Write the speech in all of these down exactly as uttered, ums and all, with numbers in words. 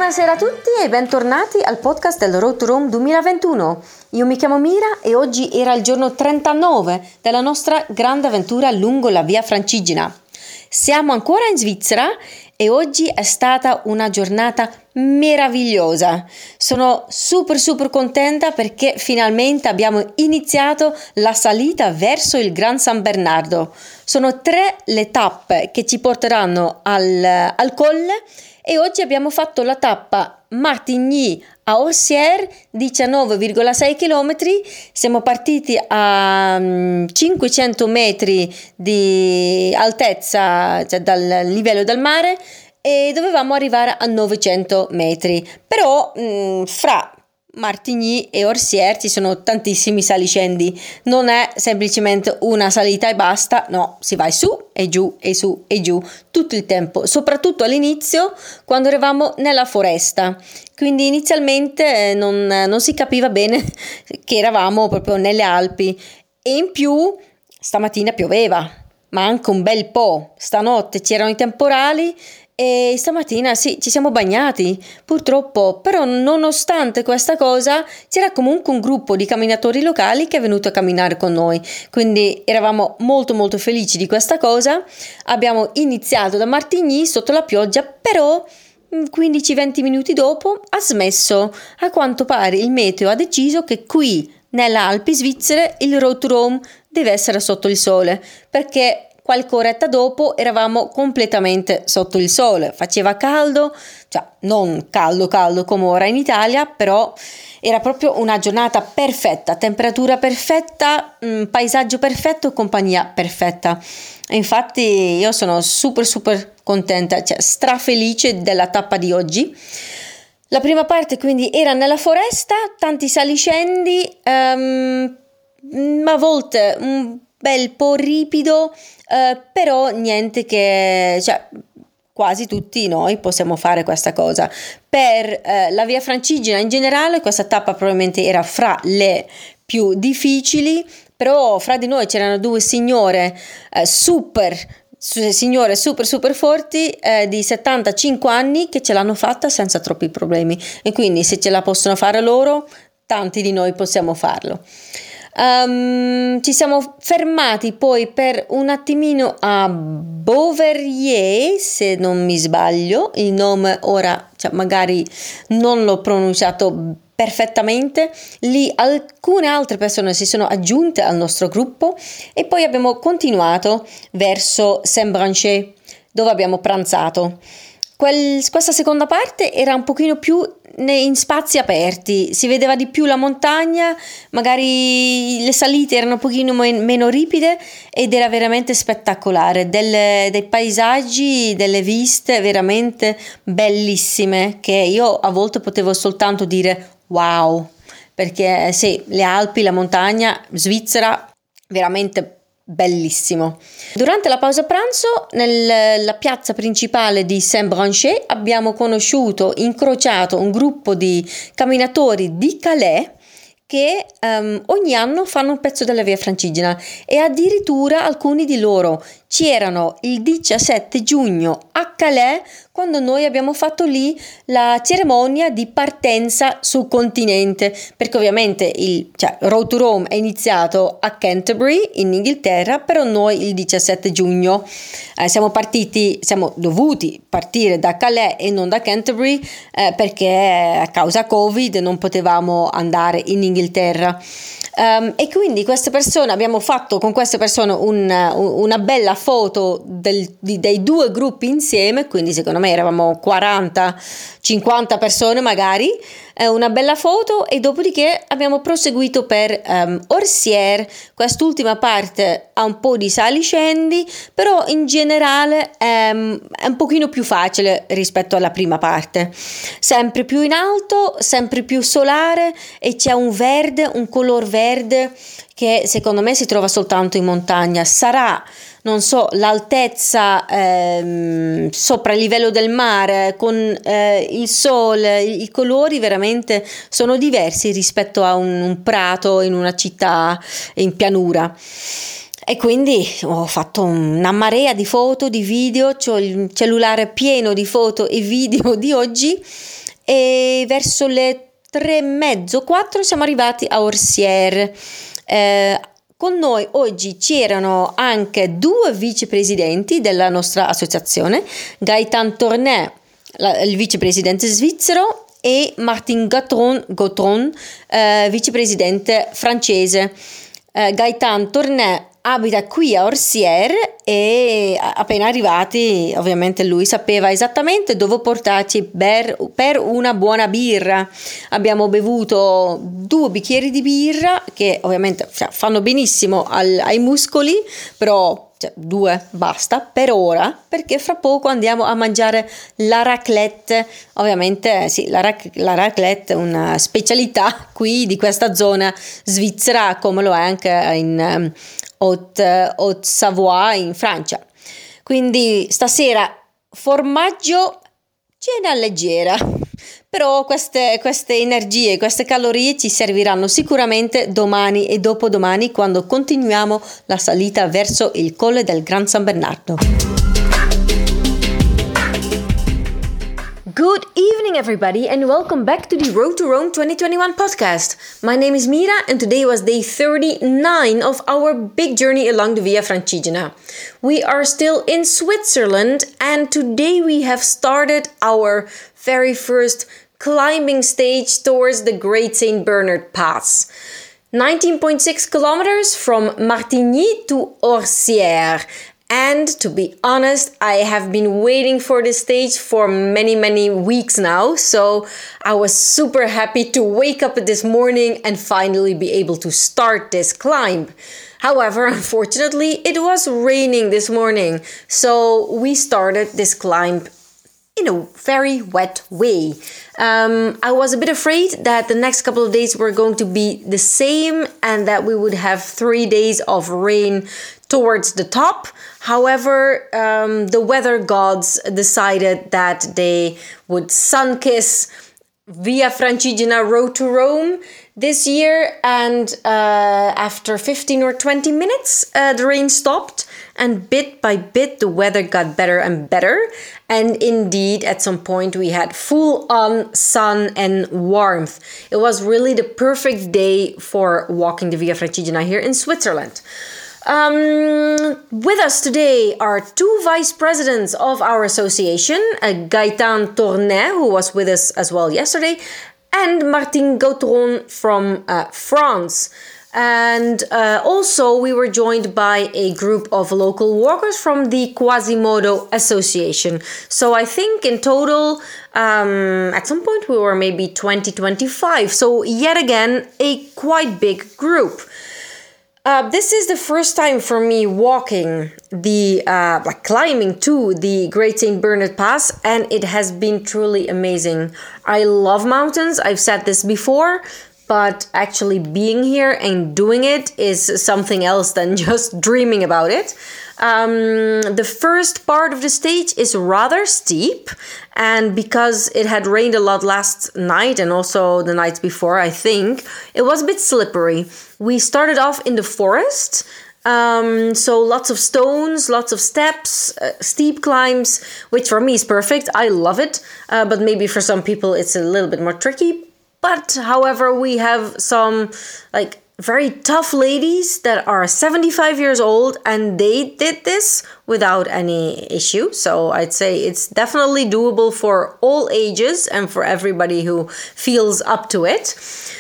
Buonasera a tutti e bentornati al podcast del Road to Rome duemilaventuno. Io mi chiamo Mira e oggi era il giorno trentanove della nostra grande avventura lungo la Via Francigena. Siamo ancora in Svizzera e oggi è stata una giornata meravigliosa. Sono super super contenta perché finalmente abbiamo iniziato la salita verso il Gran San Bernardo. Sono tre le tappe che ci porteranno al, al colle e oggi abbiamo fatto la tappa Martigny a Orsières, diciannove virgola sei chilometri. Siamo partiti a um, cinquecento metri di altezza, cioè dal livello del mare, e dovevamo arrivare a novecento metri. Però mh, fra Martigny e Orsières ci sono tantissimi saliscendi, non è semplicemente una salita e basta, no, si va su e giù e su e giù tutto il tempo, soprattutto all'inizio quando eravamo nella foresta, quindi inizialmente non, non si capiva bene che eravamo proprio nelle Alpi, e in più stamattina pioveva, ma anche un bel po', stanotte c'erano i temporali. E stamattina sì, ci siamo bagnati, purtroppo, però nonostante questa cosa c'era comunque un gruppo di camminatori locali che è venuto a camminare con noi, quindi eravamo molto molto felici di questa cosa. Abbiamo iniziato da Martigny sotto la pioggia, però quindici venti minuti dopo ha smesso. A quanto pare il meteo ha deciso che qui nelle Alpi svizzere il Road to Rome deve essere sotto il sole, perché qualche oretta dopo eravamo completamente sotto il sole, faceva caldo, cioè non caldo caldo come ora in Italia, però era proprio una giornata perfetta, temperatura perfetta, mh, paesaggio perfetto, compagnia perfetta. E infatti io sono super super contenta, cioè strafelice della tappa di oggi. La prima parte quindi era nella foresta, tanti saliscendi, um, a volte un bel po' ripido, eh, però niente che, cioè, quasi tutti noi possiamo fare questa cosa. Per eh, la Via Francigena in generale questa tappa probabilmente era fra le più difficili, però fra di noi c'erano due signore eh, super signore super super forti eh, di settantacinque anni che ce l'hanno fatta senza troppi problemi, e quindi se ce la possono fare loro, tanti di noi possiamo farlo. Um, ci siamo fermati poi per un attimino a Beauverrier, se non mi sbaglio il nome ora, cioè magari non l'ho pronunciato perfettamente. Lì alcune altre persone si sono aggiunte al nostro gruppo e poi abbiamo continuato verso Saint-Branchais, dove abbiamo pranzato. Quel, questa seconda parte era un pochino più in spazi aperti, si vedeva di più la montagna, magari le salite erano un pochino meno ripide ed era veramente spettacolare, delle, dei paesaggi, delle viste veramente bellissime che io a volte potevo soltanto dire wow, perché sì, le Alpi, la montagna, Svizzera, veramente bellissimo. Durante la pausa pranzo nella piazza principale di Saint-Branchais abbiamo conosciuto, incrociato un gruppo di camminatori di Calais che um, ogni anno fanno un pezzo della Via Francigena, e addirittura alcuni di loro c'erano il diciassette giugno a Calais quando noi abbiamo fatto lì la cerimonia di partenza sul continente, perché ovviamente il cioè, Road to Rome è iniziato a Canterbury in Inghilterra, però noi il diciassette giugno eh, siamo partiti, siamo dovuti partire da Calais e non da Canterbury eh, perché a causa Covid non potevamo andare in Inghilterra. Um, e quindi queste persone abbiamo fatto con queste persone un, una bella foto del, di, dei due gruppi insieme, quindi secondo me eravamo quaranta cinquanta persone magari, eh, una bella foto, e dopodiché abbiamo proseguito per um, Orsières. Quest'ultima parte ha un po' di saliscendi, però in generale um, è un pochino più facile rispetto alla prima parte, sempre più in alto, sempre più solare, e c'è un verde, un color verde che secondo me si trova soltanto in montagna. Sarà, non so, l'altezza ehm, sopra il livello del mare con eh, il sole, i colori veramente sono diversi rispetto a un, un prato in una città in pianura. E quindi ho fatto una marea di foto, di video, c'ho il cellulare pieno di foto e video di oggi, e verso le tre e mezzo, quattro siamo arrivati a Orsières. Eh, con noi oggi c'erano anche due vicepresidenti della nostra associazione, Gaëtan Tournet, la, il vicepresidente svizzero, e Martin Gautron, Gautron eh, vicepresidente francese. Eh, Gaëtan Tournet abita qui a Orsières e appena arrivati ovviamente lui sapeva esattamente dove portarci per, per una buona birra. Abbiamo bevuto due bicchieri di birra che ovviamente fanno benissimo al, ai muscoli, però cioè, due basta per ora, perché fra poco andiamo a mangiare la raclette. Ovviamente sì, la, rac- la raclette è una specialità qui di questa zona svizzera, come lo è anche in um, Haute, Haute-Savoie in Francia. Quindi stasera formaggio, cena leggera, però queste, queste energie, queste calorie ci serviranno sicuramente domani e dopodomani quando continuiamo la salita verso il Colle del Gran San Bernardo. Good evening, everybody, and welcome back to the Road to Rome twenty twenty-one podcast. My name is Mira, and today was day thirty-nine of our big journey along the Via Francigena. We are still in Switzerland, and today we have started our very first climbing stage towards the Great Saint Bernard Pass. nineteen point six kilometers from Martigny to Orsières. And to be honest, I have been waiting for this stage for many, many weeks now. So I was super happy to wake up this morning and finally be able to start this climb. However, unfortunately, it was raining this morning. So we started this climb in a very wet way. Um, I was a bit afraid that the next couple of days were going to be the same and that we would have three days of rain towards the top. However, um, the weather gods decided that they would sun-kiss Via Francigena Road to Rome this year, and uh, after fifteen or twenty minutes, uh, the rain stopped, and bit by bit the weather got better and better, and indeed at some point we had full-on sun and warmth. It was really the perfect day for walking the Via Francigena here in Switzerland. Um, with us today are two vice presidents of our association, uh, Gaëtan Tournet, who was with us as well yesterday, and Martin Gautron from uh, France. And uh, also we were joined by a group of local walkers from the Quasimodo Association. So I think in total, um, at some point we were maybe twenty, twenty-five. So yet again, a quite big group. Uh, this is the first time for me walking the, uh, like climbing to the Great Saint Bernard Pass, and it has been truly amazing. I love mountains, I've said this before, but actually being here and doing it is something else than just dreaming about it. Um, the first part of the stage is rather steep, and because it had rained a lot last night and also the nights before, I think, it was a bit slippery. We started off in the forest, um, so lots of stones, lots of steps, uh, steep climbs, which for me is perfect. I love it, uh, but maybe for some people it's a little bit more tricky. But however, we have some like very tough ladies that are seventy-five years old, and they did this without any issue. So I'd say it's definitely doable for all ages and for everybody who feels up to it.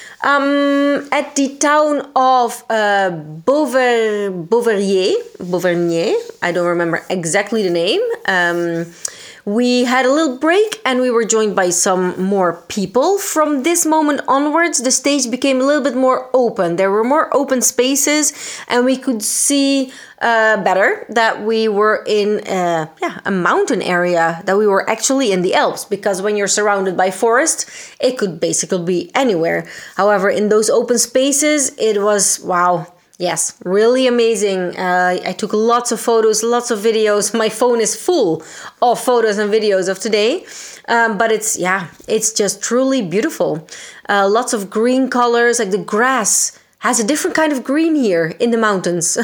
Um, at the town of uh, Beauver, Beauvernier, Beauvernier, I don't remember exactly the name. Um, We had a little break and we were joined by some more people. From this moment onwards, the stage became a little bit more open. There were more open spaces and we could see uh, better that we were in uh, yeah, a mountain area, that we were actually in the Alps. Because when you're surrounded by forest, it could basically be anywhere. However, in those open spaces, it was, wow. Yes, really amazing. Uh, I took lots of photos, lots of videos. My phone is full of photos and videos of today. Um, but it's, yeah, it's just truly beautiful. Uh, lots of green colors, like the grass has a different kind of green here in the mountains.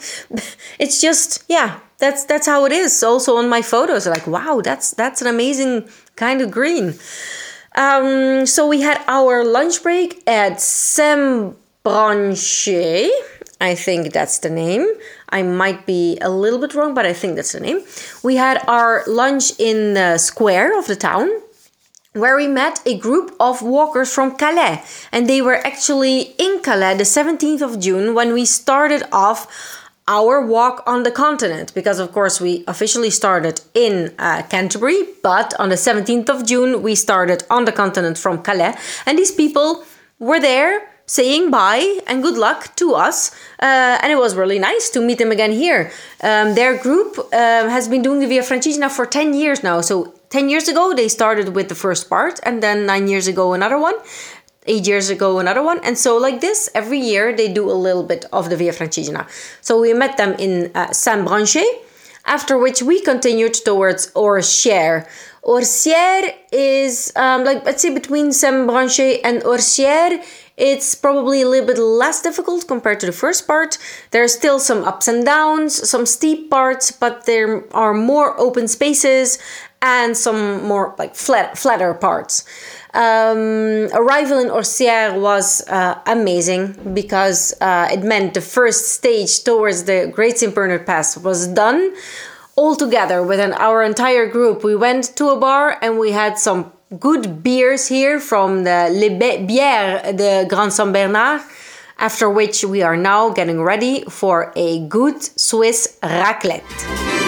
It's just, yeah, that's that's how it is. Also on my photos, like, wow, that's that's an amazing kind of green. Um, so we had our lunch break at Saint-Branché. I think that's the name. I might be a little bit wrong, but I think that's the name. We had our lunch in the square of the town, where we met a group of walkers from Calais. And they were actually in Calais the seventeenth of June when we started off our walk on the continent. Because of course we officially started in uh, Canterbury, but on the seventeenth of June we started on the continent from Calais. And these people were there saying bye and good luck to us. Uh, and it was really nice to meet them again here. Um, their group uh, has been doing the Via Francigena for ten years now. So ten years ago, they started with the first part, and then nine years ago, another one. Eight years ago, another one. And so like this, every year, they do a little bit of the Via Francigena. So we met them in uh, Saint-Branché, after which we continued towards Orsières. Orsières is, um, like, let's say between Saint-Branché and Orsières, it's probably a little bit less difficult compared to the first part. There are still some ups and downs, some steep parts, but there are more open spaces and some more like flat, flatter parts. Um, arrival in Orsières was uh, amazing because uh, it meant the first stage towards the Great Saint Bernard Pass was done. All together within our entire group, we went to a bar and we had some good beers here from the Les Bières de Grand Saint Bernard, after which we are now getting ready for a good Swiss raclette.